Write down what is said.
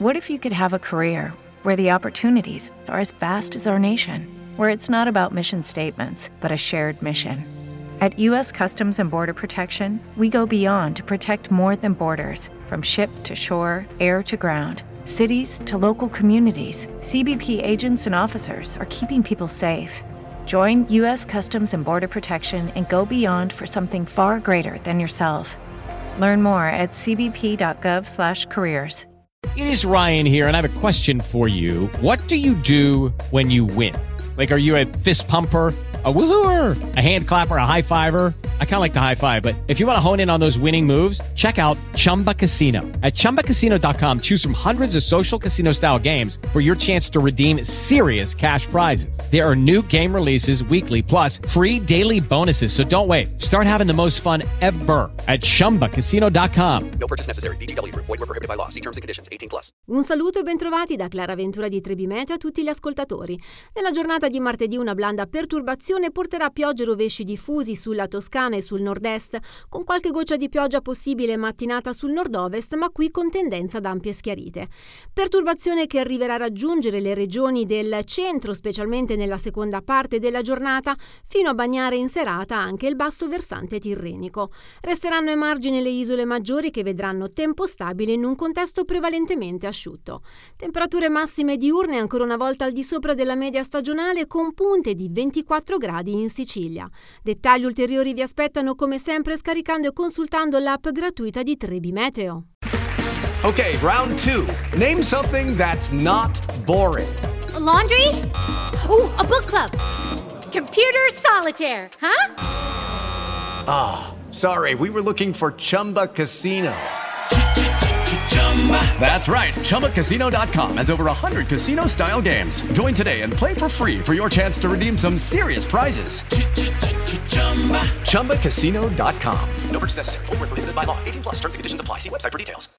What if you could have a career where the opportunities are as vast as our nation, where it's not about mission statements, but a shared mission? At U.S. Customs and Border Protection, we go beyond to protect more than borders. From ship to shore, air to ground, cities to local communities, CBP agents and officers are keeping people safe. Join U.S. Customs and Border Protection and go beyond for something far greater than yourself. Learn more at cbp.gov/careers. It is Ryan here, and I have a question for you. What do you do when you win? Like, are you a fist pumper, a woohooer, a hand clapper, a high fiver? I kind of like the high five, but if you want to hone in on those winning moves, check out Chumba Casino. At ChumbaCasino.com, choose from hundreds of social casino-style games for your chance to redeem serious cash prizes. There are new game releases weekly, plus free daily bonuses, so don't wait. Start having the most fun ever at ChumbaCasino.com. No purchase necessary. VGW Group. Void where prohibited by law. See terms and conditions. 18+. Un saluto e bentrovati da Clara Ventura di Trebi Meteo a tutti gli ascoltatori. Nella giornata di martedì una blanda perturbazione porterà piogge e rovesci diffusi sulla Toscana e sul nord-est, con qualche goccia di pioggia possibile mattinata sul nord-ovest, ma qui con tendenza ad ampie schiarite. Perturbazione che arriverà a raggiungere le regioni del centro, specialmente nella seconda parte della giornata, fino a bagnare in serata anche il basso versante tirrenico. Resteranno ai margini le isole maggiori che vedranno tempo stabile in un contesto prevalentemente asciutto. Temperature massime diurne ancora una volta al di sopra della media stagionale, con punte di 24 gradi in Sicilia. Dettagli ulteriori vi aspettano come sempre scaricando e consultando l'app gratuita di Trebi Meteo. Okay, round 2. Name something that's not boring. A laundry? Ooh, a book club. Computer solitaire, huh? Ah, sorry, we were looking for Chumba Casino. That's right, ChumbaCasino.com has over 100 casino-style games. Join today and play for free for your chance to redeem some serious prizes. ChumbaCasino.com. No purchase necessary. Void where prohibited by law. 18+. Terms and conditions apply. See website for details.